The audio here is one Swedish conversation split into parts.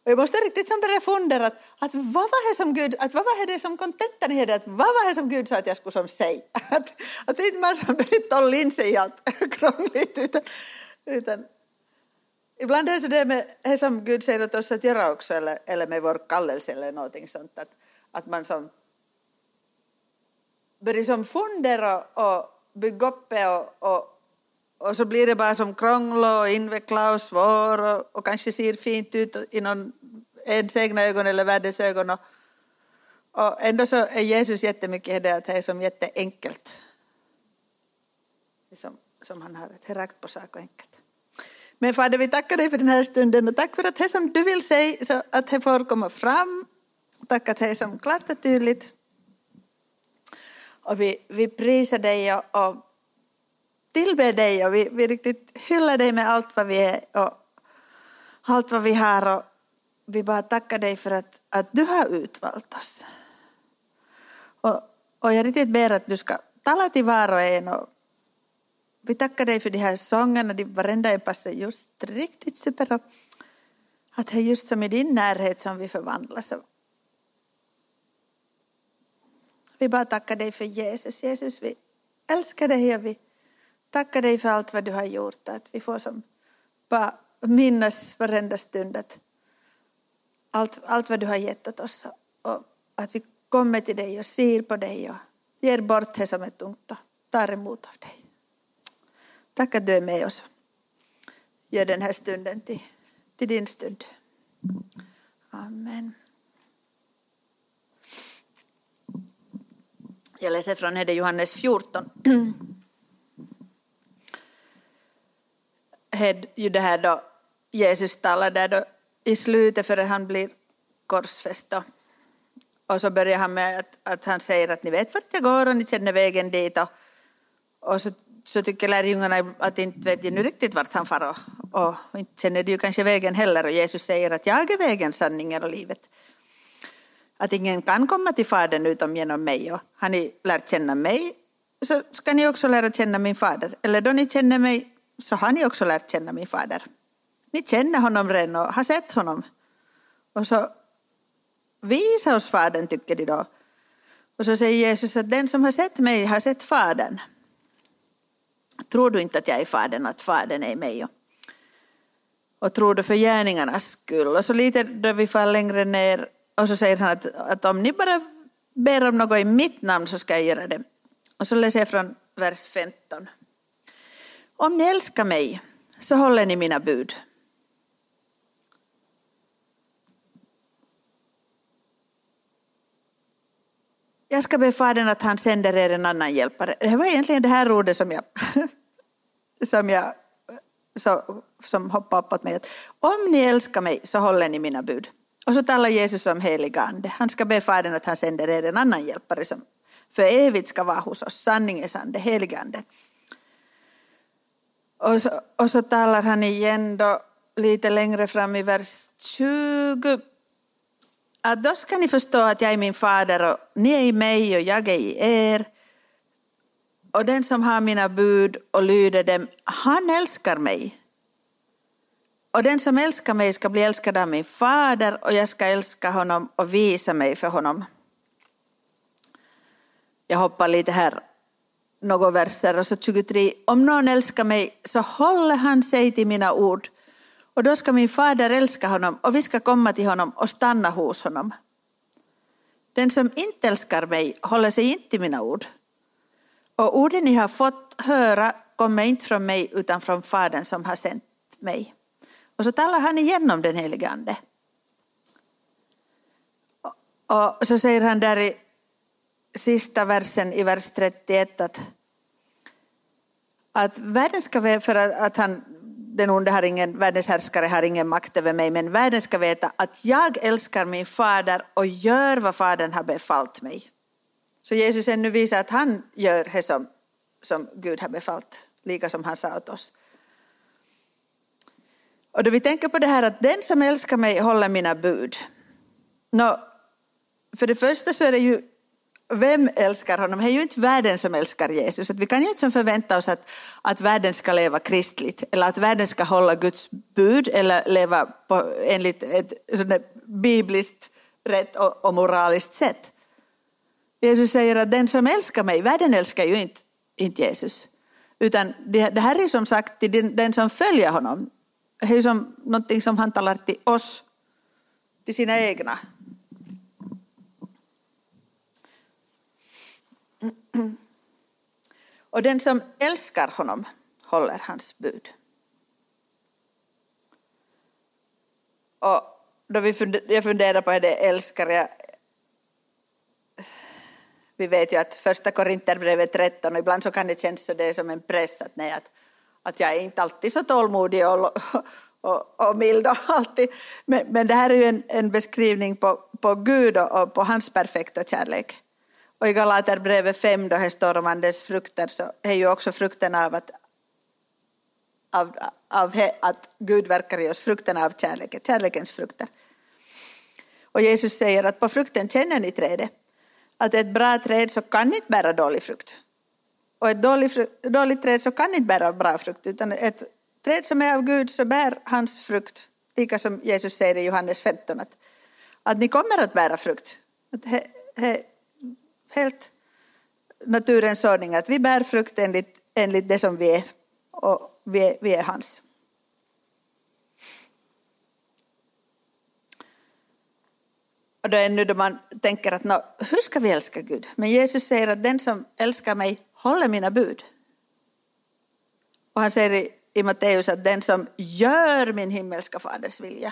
Och jag måste riktigt som börja fundera att vad var det som Gud, att vad var det som kontentan i det, att vad var det som Gud sa att jag skulle som säga. Att inte man som börjar hålla in sig i allt krångligt utan ibland är det så det med det som Gud säger åt oss att göra också eller med vår kallelse eller någonting sånt att man som börjar som fundera och bygga upp och så blir det bara som krångla och invecklad och svår och kanske ser fint ut i någon ens egna ögon eller världens ögon och ändå så är Jesus jättemycket det att det är som jätteenkelt. Det som han har ett rakt på sak och enkelt. Men Fader, vi tackar dig för den här stunden och tack för att det som du vill säga så att det får komma fram. Tack att det är som klart och tydligt. Och vi prisar dig och tillber dig och vi riktigt hyllar dig med allt vad vi är och allt vad vi har och vi bara tackar dig för att du har utvalt oss. Och jag riktigt ber att du ska tala till var och en och vi tackar dig för de här sångerna, varenda en passar just riktigt super och att det är just som i din närhet som vi förvandlas. Vi bara tackar dig för Jesus. Jesus, vi älskar dig och vi tackar dig för allt vad du har gjort. Att vi får som bara minnas varenda stund att allt vad du har gett åt oss. Och att vi kommer till dig och ser på dig och ger bort det som är tungt och tar emot av dig. Tack att du är med oss. Gör den här stunden till din stund. Amen. Jag läser från Johannes 14. Det här då Jesus talar där då i slutet före han blir korsfäst. Och så börjar han med att han säger att ni vet vart jag går och ni känner vägen dit. Och så tycker lärjungarna att inte vet nu riktigt vart han far. Och inte känner du kanske vägen heller. Och Jesus säger att jag är vägen, sanningen och livet. Att ingen kan komma till Fadern utom genom mig. Och har ni lärt känna mig så ska ni också lära känna min fader. Eller då ni känner mig så har ni också lärt känna min fader. Ni känner honom redan och har sett honom. Och så visa oss Fadern, tycker de då. Och så säger Jesus att den som har sett mig har sett Fadern. Tror du inte att jag är Fadern och att Fadern är mig? Och tror du för gärningarnas skull? Och så lite då vi faller längre ner. Och så säger han att om ni bara ber om något i mitt namn så ska jag göra det. Och så läser jag från vers 15. Om ni älskar mig så håller ni mina bud. Jag ska be Fadern att han sänder er en annan hjälpare. Det var egentligen det här ordet som hoppade upp åt mig. Att om ni älskar mig så håller ni mina bud. Och så talar Jesus om heliga ande. Han ska be Fadern att han sänder er en annan hjälpare som för evigt ska vara hos oss. Sanningens ande, heliga ande. Och så talar han igen då lite längre fram i vers 20. Att då ska ni förstå att jag är min fader och ni är i mig och jag är i er. Och den som har mina bud och lyder dem, han älskar mig. Och den som älskar mig ska bli älskad av min fader och jag ska älska honom och visa mig för honom. Jag hoppar lite här några verser och så 23. Om någon älskar mig så håller han sig till mina ord. Och då ska min fader älska honom och vi ska komma till honom och stanna hos honom. Den som inte älskar mig håller sig inte till mina ord. Och orden ni har fått höra kommer inte från mig utan från Fadern som har sänt mig. Och så talar han igenom den helige ande. Och så säger han där i sista versen i vers 31 att världen ska veta, för att den onde har ingen, världens härskare har ingen makt över mig, men världen ska veta att jag älskar min fader och gör vad fadern har befallt mig. Så Jesus ännu visar att han gör det som Gud har befallt, lika som han sa åt oss. Och då vi tänker på det här att den som älskar mig håller mina bud. För det första så är det ju vem älskar honom? Det är ju inte världen som älskar Jesus. Att vi kan ju inte förvänta oss att världen ska leva kristligt. Eller att världen ska hålla Guds bud. Eller leva enligt ett bibliskt rätt och moraliskt sätt. Jesus säger att den som älskar mig, världen älskar ju inte Jesus. Utan det här är som sagt till den som följer honom. Det är ju som någonting som han talar till oss, till sina egna. Och den som älskar honom håller hans bud. Och då jag funderar på det älskar jag. Vi vet ju att första Korinterbrevet 13, och ibland så kan det kännas så det är som en press att jag är inte alltid så tålmodig och mild och alltid. Men det här är ju en beskrivning på Gud och på hans perfekta kärlek. Och i Galaterbrevet 5 då det står om andens frukter så är ju också frukten av att Gud verkar i oss, frukten av kärlekens frukter. Och Jesus säger att på frukten känner ni trädet. Att ett bra träd så kan inte bära dålig frukt. Och ett dåligt träd så kan inte bära bra frukt. Utan ett träd som är av Gud så bär hans frukt. Lika som Jesus säger i Johannes 15. Att ni kommer att bära frukt. Helt naturens ordning. Att vi bär frukt enligt det som vi är. Och vi är hans. Och då är nu då man tänker att hur ska vi älska Gud? Men Jesus säger att den som älskar mig håller mina bud. Och han säger i Matteus att den som gör min himmelska faders vilja.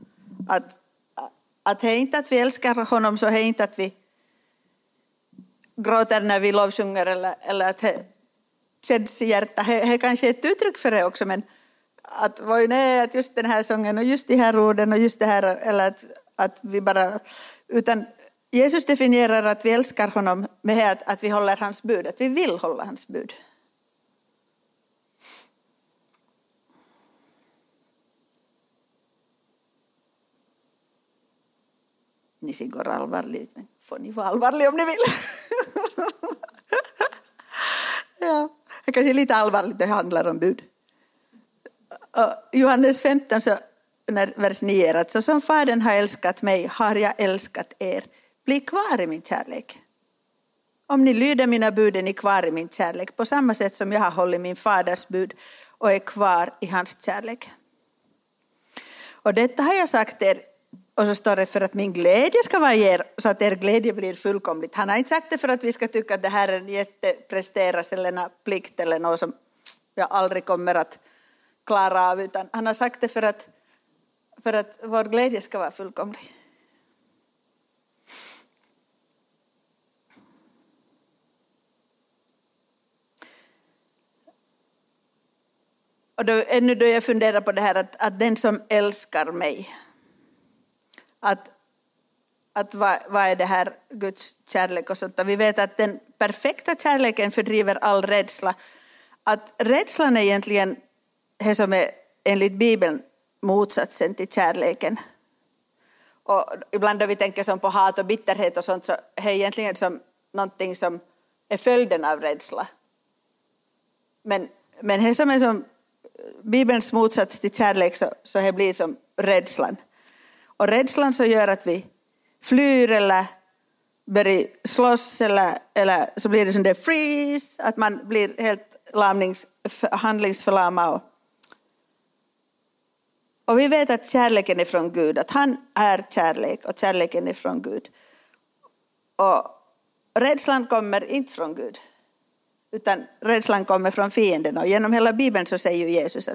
Att det är inte att vi älskar honom så är inte att vi gråter när vi lovsjunger eller att det känns i hjärtat. Det är kanske ett uttryck för det också, men att just den här sången och just de här orden och just det här, eller att vi bara, utan Jesus definierar att vi älskar honom med att vi håller hans bud, att vi vill hålla hans bud. Ni ser går allvarligt, men får ni vara allvarliga om ni vill. Ja, det kanske är lite allvarligt, det handlar om bud. Johannes 15 så vers 9 att så som Fadern har älskat mig har jag älskat er. Bli kvar i min kärlek. Om ni lyder mina bud är ni kvar i min kärlek. På samma sätt som jag har hållit min faders bud och är kvar i hans kärlek. Och detta har jag sagt er. Och så står det för att min glädje ska vara er så att er glädje blir fullkomligt. Han har inte sagt det för att vi ska tycka att det här är en jättepresteras eller en plikt eller något som jag aldrig kommer att klara av. Utan han har sagt det för att vår glädje ska vara fullkomlig. Och ännu då jag funderar på det här att den som älskar mig. Att vad är det här Guds kärlek och sånt. Och vi vet att den perfekta kärleken fördriver all rädsla. Att rädslan är egentligen det som är enligt Bibeln motsatsen till kärleken. Och ibland då vi tänker som på hat och bitterhet och sånt så är det egentligen som någonting som är följden av rädsla. Men det som är som Bibelns motsats till kärlek så det blir som rädslan. Och rädslan så gör att vi flyr eller börjar slåss eller så blir det som det freeze. Att man blir helt handlingsförlamad. Och vi vet att kärleken är från Gud. Att han är kärlek och kärleken är från Gud. Och rädslan kommer inte från Gud. Utan rädslan kommer från fienden. Och genom hela Bibeln så säger Jesus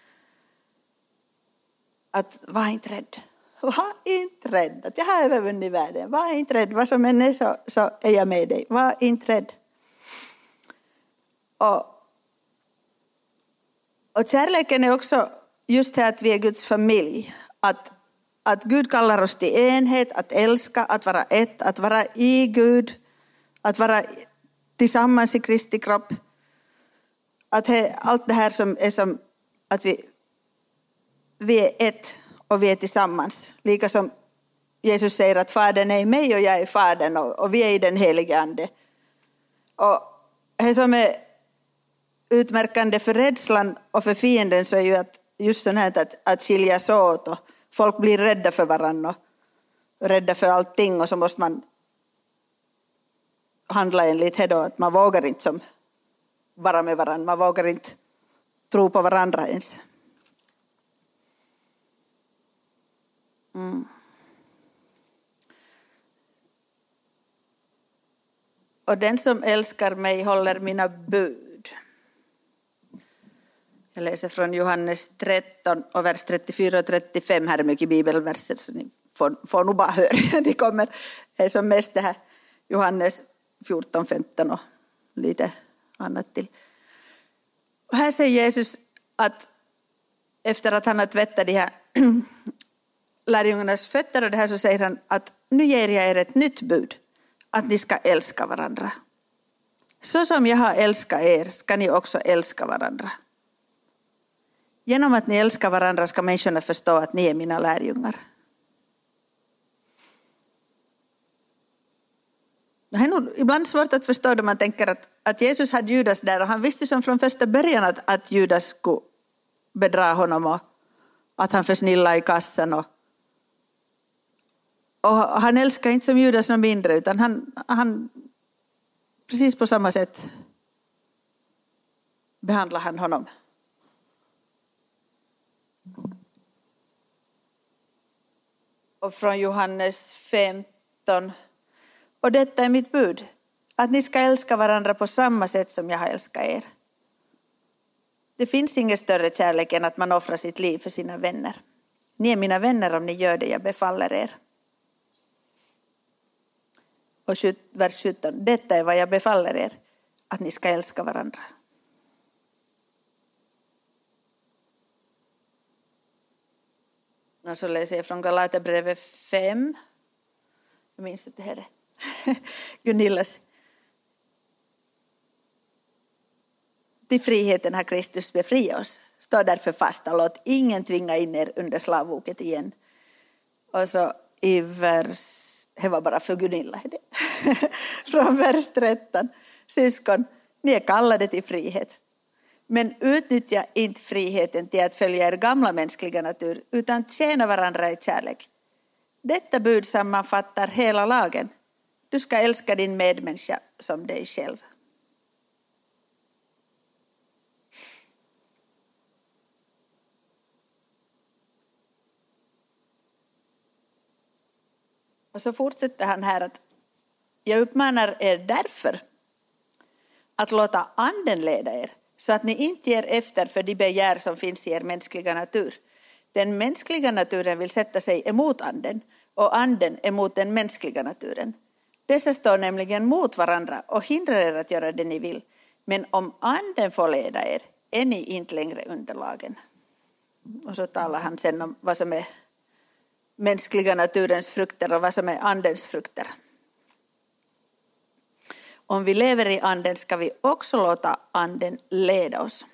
att var inte rädd. Var inte rädd. Att jag har övervunnit världen. Var inte rädd. Vad som än är så är jag med dig. Var inte rädd. Och kärleken är också just det att vi är Guds familj. Att Gud kallar oss till enhet. Att älska. Att vara ett. Att vara i Gud. Att vara tillsammans i Kristi kropp. Att allt det här som är som att vi är ett och vi är tillsammans. Lika som Jesus säger att Fadern är i mig och jag är Fadern och vi är i den helige Ande. Och det som är utmärkande för rädslan och för fienden så är ju att just sånt här att skiljas åt och folk blir rädda för varandra och rädda för allting och så måste man handla enligt det då att man vågar inte som vara med varandra, man vågar inte tro på varandra ens. Och den som älskar mig håller mina bud. Jag läser från Johannes 13 och vers 34 och 35. Här är mycket bibelverser så ni får nog bara höra. Det kommer som mest det här Johannes 14, 15 och lite annat till. Och här säger Jesus att efter att han har tvättat de här lärjungarnas fötter och det här så säger han att nu ger jag er ett nytt bud. Att ni ska älska varandra. Så som jag har älskat er ska ni också älska varandra. Genom att ni älskar varandra ska människorna förstå att ni är mina lärjungar. Det är nog ibland svårt att förstå då man tänker att Jesus hade Judas där och han visste som från första början att Judas skulle bedra honom och att han försnillade i kassan och han älskar inte som Judas någon mindre utan han precis på samma sätt behandlar han honom. Och från Johannes 15. Och detta är mitt bud. Att ni ska älska varandra på samma sätt som jag har älskat er. Det finns ingen större kärlek än att man offrar sitt liv för sina vänner. Ni är mina vänner om ni gör det jag befaller er. Och vers 17. Detta är vad jag befaller er. Att ni ska älska varandra. Och så läser jag från Galaterbrevet 5. Jag minns att det här är Gunillas. Till friheten har Kristus befriat oss. Stå därför fast och låt ingen tvinga in er under slavoket igen. Och så i vers, det var bara för Gunilla. Från vers 13. Syskon, ni är kallade till frihet. Men utnyttja inte friheten till att följa er gamla mänskliga natur utan tjäna varandra i kärlek. Detta bud sammanfattar hela lagen. Du ska älska din medmänniska som dig själv. Och så fortsätter han här att jag uppmanar er därför att låta anden leda er så att ni inte ger efter för de begär som finns i er mänskliga natur. Den mänskliga naturen vill sätta sig emot anden och anden emot den mänskliga naturen. Dessa står nämligen mot varandra och hindrar er att göra det ni vill. Men om anden får leda er är ni inte längre under lagen. Och så talar han sen om vad som är mänskliga naturens frukter och vad som är andens frukter. Om vi lever i anden ska vi också låta anden leda oss.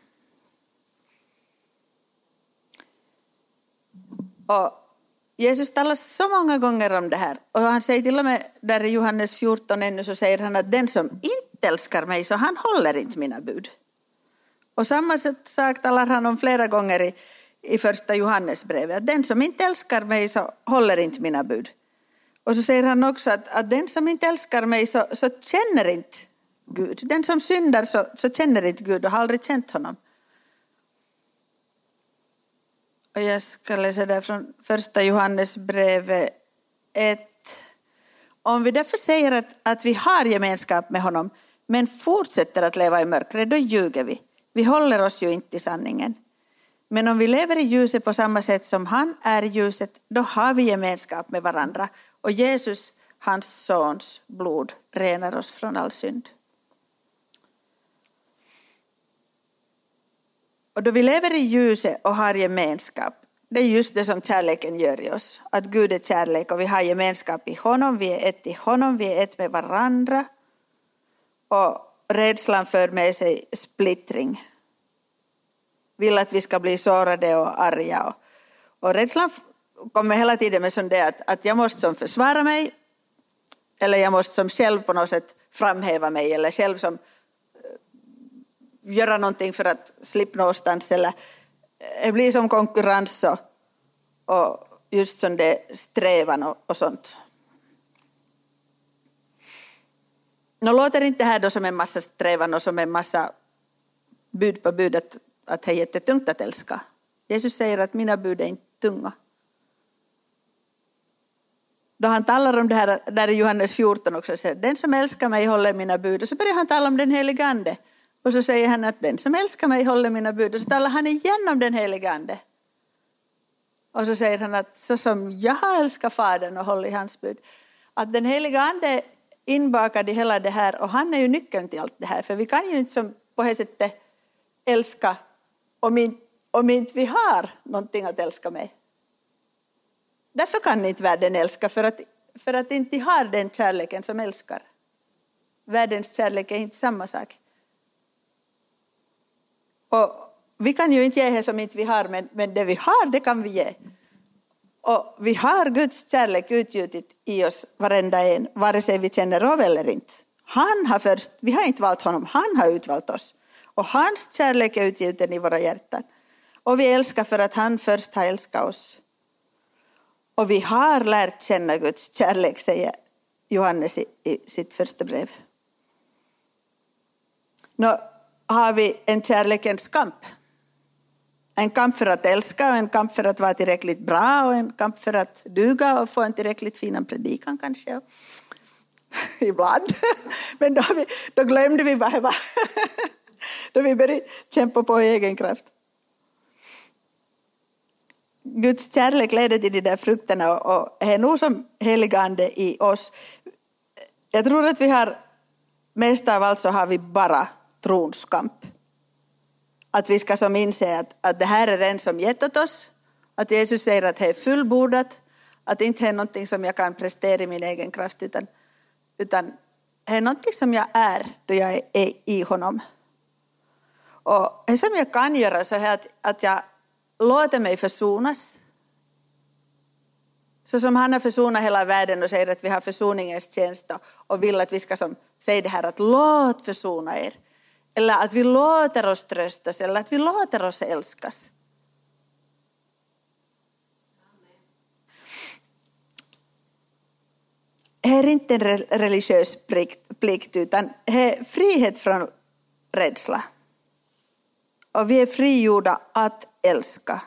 Och Jesus talar så många gånger om det här. Och han säger till och med där i Johannes 14 ännu så säger han att den som inte älskar mig så han håller inte mina bud. Och samma sak talar han om flera gånger i första Johannesbrevet. Att den som inte älskar mig så håller inte mina bud. Och så säger han också att den som inte älskar mig så känner inte Gud. Den som syndar så känner inte Gud och har aldrig känt honom. Och jag ska läsa där från första Johannesbrevet 1. Om vi därför säger att vi har gemenskap med honom men fortsätter att leva i mörkret, då ljuger vi. Vi håller oss ju inte i sanningen. Men om vi lever i ljuset på samma sätt som han är i ljuset, då har vi gemenskap med varandra. Och Jesus, hans sons blod, renar oss från all synd. Och då vi lever i ljuset och har gemenskap, det är just det som kärleken gör i oss. Att Gud är kärlek och vi har gemenskap i honom, vi är ett i honom, vi är ett med varandra. Och rädslan för med sig splittring. Vill att vi ska bli sårade och arga. Och rädslan kommer hela tiden med sån det att jag måste som försvara mig, eller jag måste som själv på något sätt framhäva mig, eller själv som göra någonting för att slippa någonstans, eller det blir som konkurrens och just sån det strävan och sånt. Nu låter inte här då som en massa strävan och som en massa bud på bud att det är jättetungt att älska. Jesus säger att mina bud är inte tunga. Då han talar om det här, där i Johannes 14 också, säger den som älskar mig håller mina bud. Och så börjar han tala om den helige ande. Och så säger han att den som älskar mig håller mina bud. Och så talar han igen om den helige ande. Och så säger han att så som jag har älskat Fadern och håller i hans bud. Att den heliga ande är inbakad i hela det här. Och han är ju nyckeln till allt det här. För vi kan ju inte som på det sättet älska om inte vi har någonting att älska med. Därför kan inte världen älska, för att inte har den kärleken som älskar. Världens kärlek är inte samma sak. Och vi kan ju inte ge det som inte vi har, men det vi har, det kan vi ge. Och vi har Guds kärlek utgjutit i oss varenda en, vare sig vi känner av eller inte. Han har först, vi har inte valt honom, han har utvalt oss. Och hans kärlek är utgjuten i våra hjärtan. Och vi älskar för att han först har älskat oss. Och vi har lärt känna Guds kärlek, säger Johannes i sitt första brev. Nu har vi en kärlekens kamp. En kamp för att älska och en kamp för att vara tillräckligt bra och en kamp för att duga och få en tillräckligt fin predikan kanske. Ibland. Men då glömde vi vad det var. Då vi började kämpa på egen kraft. Guds kärlek leder till de där frukterna och är nog som heliga ande i oss. Jag tror att vi har, mest av allt så har vi bara trons kamp. Att vi ska som inse att det här är den som gett åt oss. Att Jesus säger att det är fullbordat. Att det inte är någonting som jag kan prestera i min egen kraft. Utan det är någonting som jag är då jag är i honom. Och det som jag kan göra så är att jag låter mig försonas. Så som han har försonat hela världen och säger att vi har försoningens tjänst och vill att vi ska som säga det här att låt försona er. Eller att vi låter oss tröstas eller att vi låter oss älskas. Det är inte en religiös plikt utan det är frihet från rädsla. Och vi är frigjorda att älska.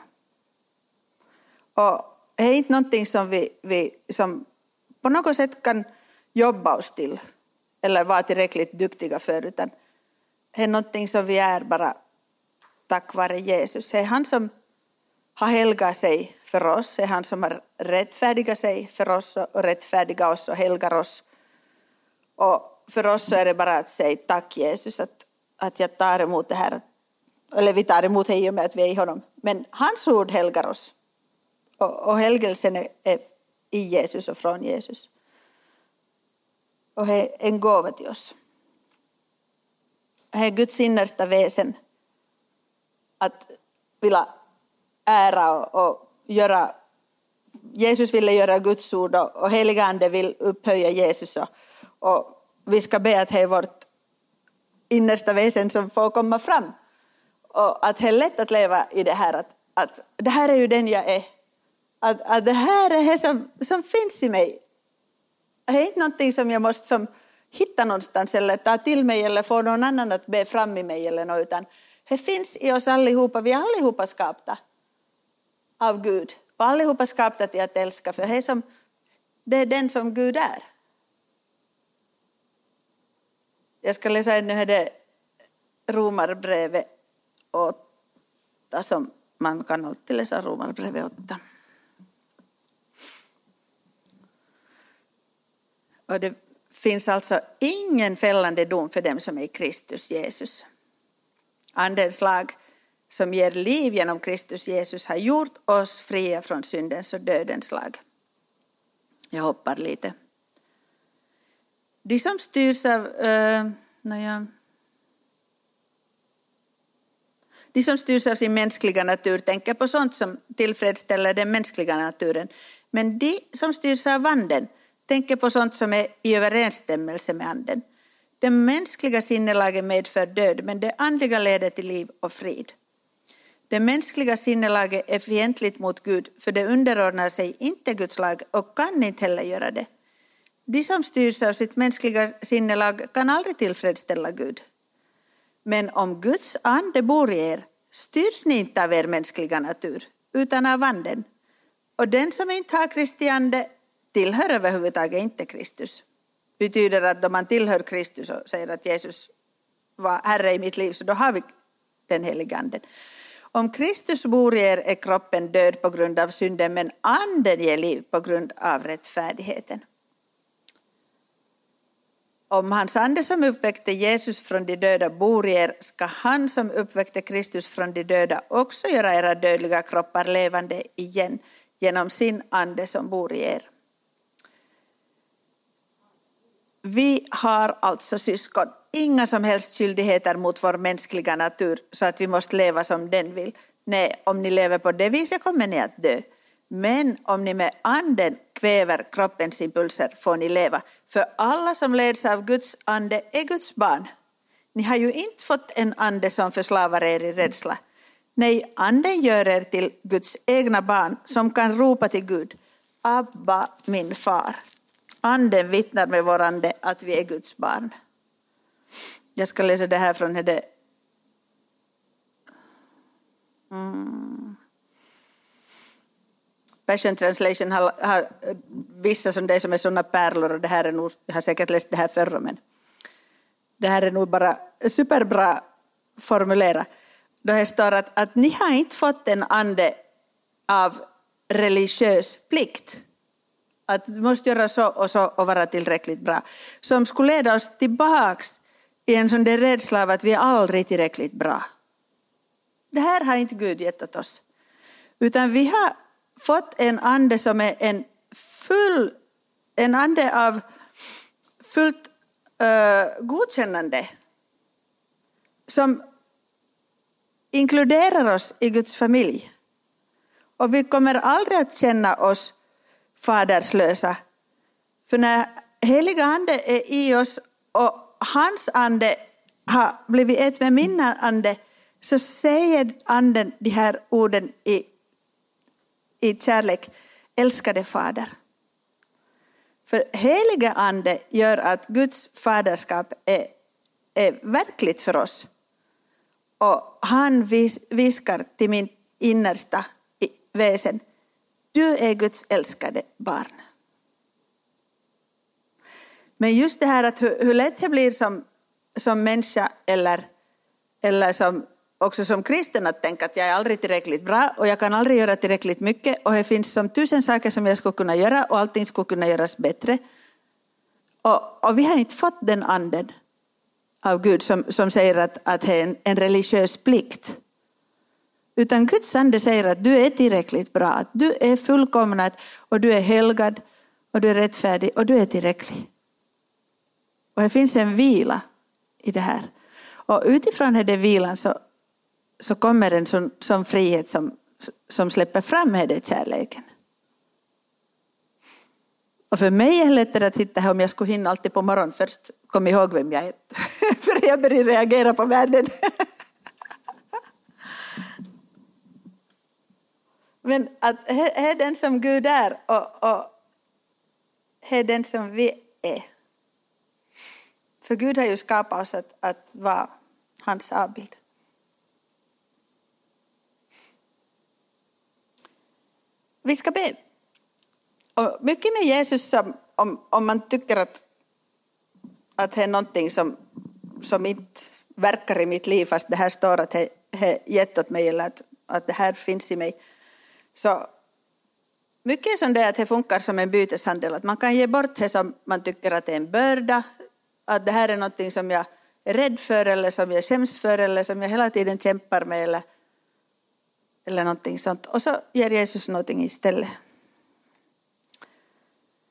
Och det är inte någonting som vi som på något sätt kan jobba oss till. Eller vara tillräckligt duktiga för. Utan det är någonting som vi är bara tack vare Jesus. Det är han som har helgat sig för oss. Det är han som har rättfärdigat sig för oss. Och rättfärdigat oss och helgar oss. Och för oss så är det bara att säga tack Jesus. Att jag tar emot det här. Eller vi tar emot det i och med att vi är i honom. Men hans ord helgar oss. Och helgelsen är i Jesus och från Jesus. Och det är en gåva till oss. Det är Guds innersta väsen. Att vilja ära och göra. Jesus ville göra Guds ord och heliga ande vill upphöja Jesus. Och vi ska be att det är vårt innersta väsen som får komma fram. Och att det är lätt att leva i det här. Att det här är ju den jag är. Att det här är det som finns i mig. Det är inte någonting som jag måste som hitta någonstans. Eller ta till mig. Eller få någon annan att be fram i mig. Eller något, utan det finns i oss allihopa. Vi är allihopa skapta av Gud. Och allihopa skapta till att älska. För det är den som Gud är. Jag ska läsa nu det Romarbrevet 8 som man kan alltid läsa Romarbrevet 8. Och det finns alltså ingen fällande dom för dem som är i Kristus Jesus. Andens lag som ger liv genom Kristus Jesus har gjort oss fria från syndens och dödens lag. Jag hoppar lite. De som styrs av De som styrs av sin mänskliga natur tänker på sånt som tillfredsställer den mänskliga naturen. Men de som styrs av anden tänker på sånt som är i överensstämmelse med anden. Det mänskliga sinnelaget medför död, men det andliga leder till liv och frid. Det mänskliga sinnelaget är fientligt mot Gud, för det underordnar sig inte Guds lag och kan inte heller göra det. De som styrs av sitt mänskliga sinnelag kan aldrig tillfredsställa Gud. Men om Guds ande bor i er, styrs ni inte av er mänskliga natur, utan av anden. Och den som inte har Kristi ande tillhör överhuvudtaget inte Kristus. Betyder att då man tillhör Kristus och säger att Jesus var Herre i mitt liv, så då har vi den heliga anden. Om Kristus bor i er är kroppen död på grund av synden, men anden ger liv på grund av rättfärdigheten. Om hans ande som uppväckte Jesus från de döda bor i er, ska han som uppväckte Kristus från de döda också göra era dödliga kroppar levande igen genom sin ande som bor i er. Vi har alltså, syskon, inga som helst skyldigheter mot vår mänskliga natur så att vi måste leva som den vill. Nej, om ni lever på det viset kommer ni att dö. Men om ni med anden kväver kroppens impulser får ni leva. För alla som leds av Guds ande är Guds barn. Ni har ju inte fått en ande som förslavar er i rädsla. Nej, anden gör er till Guds egna barn som kan ropa till Gud: Abba, min far. Anden vittnar med vår ande att vi är Guds barn. Jag ska läsa det här från det. Passion Translation har vissa som det som är sådana pärlor, och det här är nog, jag har säkert läst det här förr, men det här är nog bara superbra formulerat. Då det står att ni har inte fått en ande av religiös plikt. Att du måste göra så och vara tillräckligt bra. Som skulle leda oss tillbaks i en sån där rädsla av att vi är aldrig tillräckligt bra. Det här har inte Gud gett åt oss. Utan vi har fått en ande som är en ande av fullt godkännande. Som inkluderar oss i Guds familj. Och vi kommer aldrig att känna oss faderslösa. För när heliga ande är i oss och hans ande har blivit ett med min ande, så säger anden de här orden i kärlek: älskade fader. För heliga ande gör att Guds faderskap är verkligt för oss. Och han viskar till min innersta väsen: du är Guds älskade barn. Men just det här att hur lätt det blir som människa eller också som kristen att tänka att jag är aldrig tillräckligt bra och jag kan aldrig göra tillräckligt mycket och det finns som 1000 saker som jag skulle kunna göra och allting skulle kunna göras bättre. Och vi har inte fått den anden av Gud som säger att det är en religiös plikt. Utan Guds ande säger att du är tillräckligt bra, att du är fullkomnad och du är helgad och du är rättfärdig och du är tillräcklig. Och det finns en vila i det här. Och utifrån den vilan så kommer en sån frihet som släpper fram den kärleken. Och för mig är det lättare att hitta här om jag skulle hinna alltid på morgonen först. Kom ihåg vem jag är. För jag börjar reagera på världen. Men att det är den som Gud är och det är den som vi är. För Gud har ju skapat oss att vara hans avbild. Vi ska be. Och mycket med Jesus om man tycker att det är någonting som inte verkar i mitt liv fast det här står att det är gett åt mig eller att det här finns i mig. Så mycket som det är att det funkar som en byteshandel. Att man kan ge bort det som man tycker att det är en börda. Att det här är någonting som jag är rädd för eller som jag skäms för eller som jag hela tiden kämpar med eller någonting sånt. Och så ger Jesus någonting istället.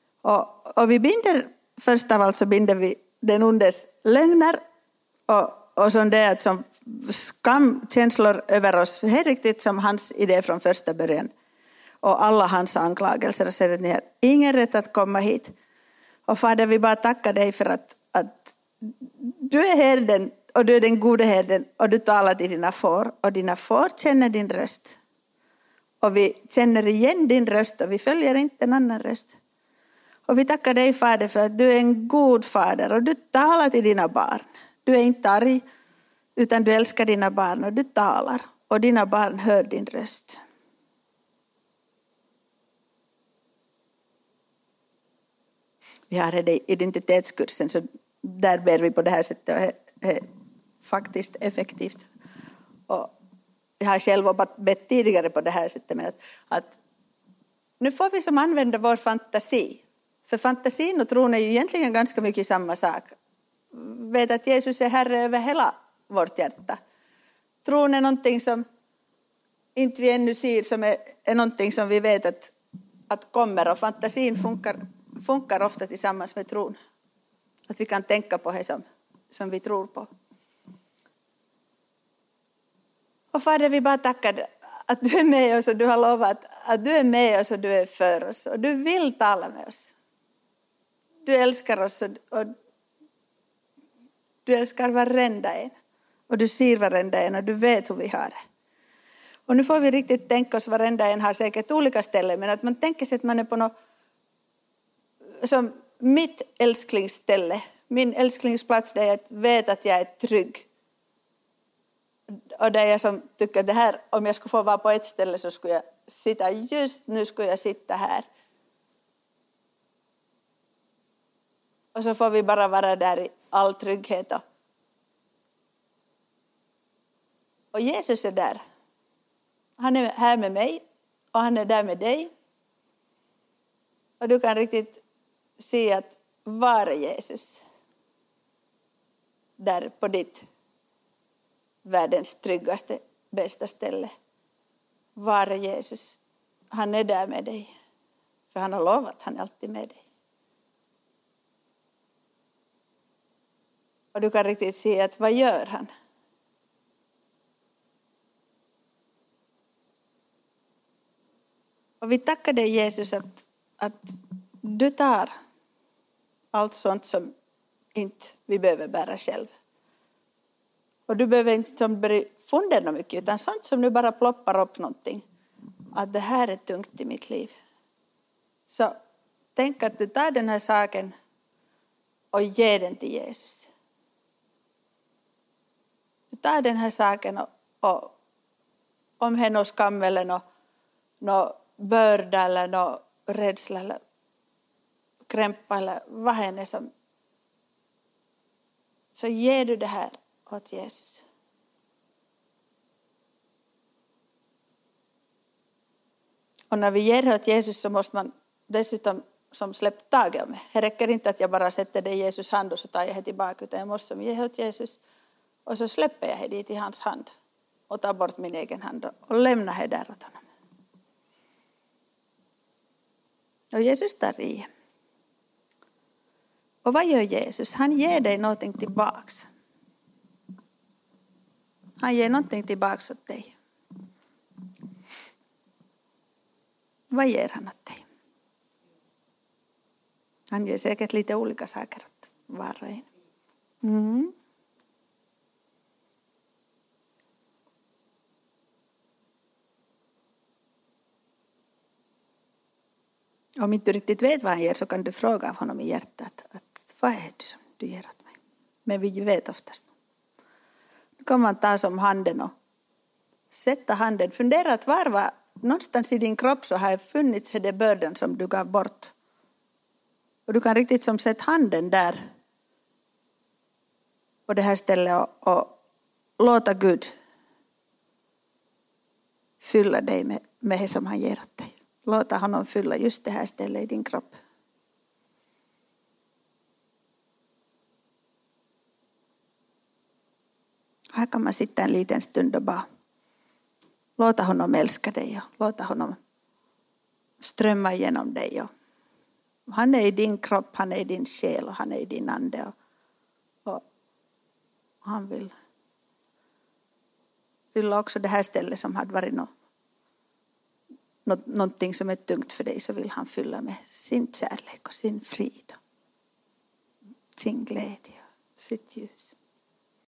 Och vi binder, först av allt så binder vi den ondes lögner och som det att som skamkänslor över oss. Det är riktigt som hans idé från första början. Och alla hans anklagelser och säger att ni har ingen rätt att komma hit. Och Fader, vi bara tackar dig för att du är herden och du är den gode herden och du talar till dina får. Och dina får känner din röst. Och vi känner igen din röst och vi följer inte en annan röst. Och vi tackar dig, Fader, för att du är en god fader och du talar till dina barn. Du är inte arg utan du älskar dina barn och du talar. Och dina barn hör din röst. Vi har det i identitetskursen så där ber vi på det här sättet och det är faktiskt effektivt. Och jag har själv bett tidigare på det här sättet med att nu får vi som använda vår fantasi. För fantasin och tron är ju egentligen ganska mycket samma sak. Vet att Jesus är Herre över hela vårt hjärta. Tron är någonting som inte vi ännu ser, som är någonting som vi vet att kommer. Och fantasin funkar ofta tillsammans med tron. Att vi kan tänka på det som vi tror på. Och Fader, vi bara tackar att du är med oss och du har lovat att du är med oss och du är för oss. Och du vill tala med oss. Du älskar oss och du älskar varenda en. Och du ser varenda en och du vet hur vi har det. Och nu får vi riktigt tänka oss, varenda en har säkert olika ställen. Men att man tänker sig att man är på något som mitt älsklingsställe. Min älsklingsplats där jag vet att jag är trygg. Och där jag som tycker att det här, om jag skulle få vara på ett ställe så skulle jag sitta, just nu skulle jag sitta här. Och så får vi bara vara där i all trygghet. Och Jesus är där. Han är här med mig och han är där med dig. Och du kan riktigt se att var är Jesus där på ditt världens tryggaste, bästa ställe. Var är Jesus? Han är där med dig. För han har lovat, han är alltid med dig. Och du kan riktigt se att vad gör han? Och vi tackar dig, Jesus, att du tar allt sånt som inte vi behöver bära själv. Och du behöver inte börja fundera mycket, utan sånt som nu bara ploppar upp någonting. Att det här är tungt i mitt liv. Så tänk att du tar den här saken och ger den till Jesus. Du tar den här saken och om det är någon skam eller någon börda eller någon rädsla eller krämpa eller vad det är som. Så ger du det här åt Jesus. Och när vi ger det åt Jesus så måste man dessutom som släppt taget om det. Det räcker inte att jag bara sätter det i Jesus hand och så tar jag det tillbaka. Utan jag måste som ge det åt Jesus och så släpper jag det dit i hans hand. Och tar bort min egen hand och lämnar det där åt honom. Och Jesus tar i. Och vad gör Jesus? Han ger dig någonting tillbaks. Han ger någonting tillbaks åt dig. Vad ger han åt dig? Han ger säkert lite olika saker åt var och en. Mm. Om inte du riktigt vet vad han ger så kan du fråga av honom i hjärtat. Att vad är det som du ger åt mig? Men vi vet oftast. Nu kan man ta som handen och sätta handen. Fundera att var någonstans i din kropp så har funnits det bördan som du gav bort. Och du kan riktigt som sätta handen där på det här stället och låta Gud fylla dig med det som han ger åt dig. Låta honom fylla just det här stället i din kropp. Här kan man sitta en liten stund och bara låta honom älska dig och låta honom strömma igenom dig. Han är i din kropp, han är i din själ och han är i din ande. Och han vill fylla också det här stället som hade varit någonting som är tungt för dig, så vill han fylla med sin kärlek och sin frid. Sin glädje och sitt ljus.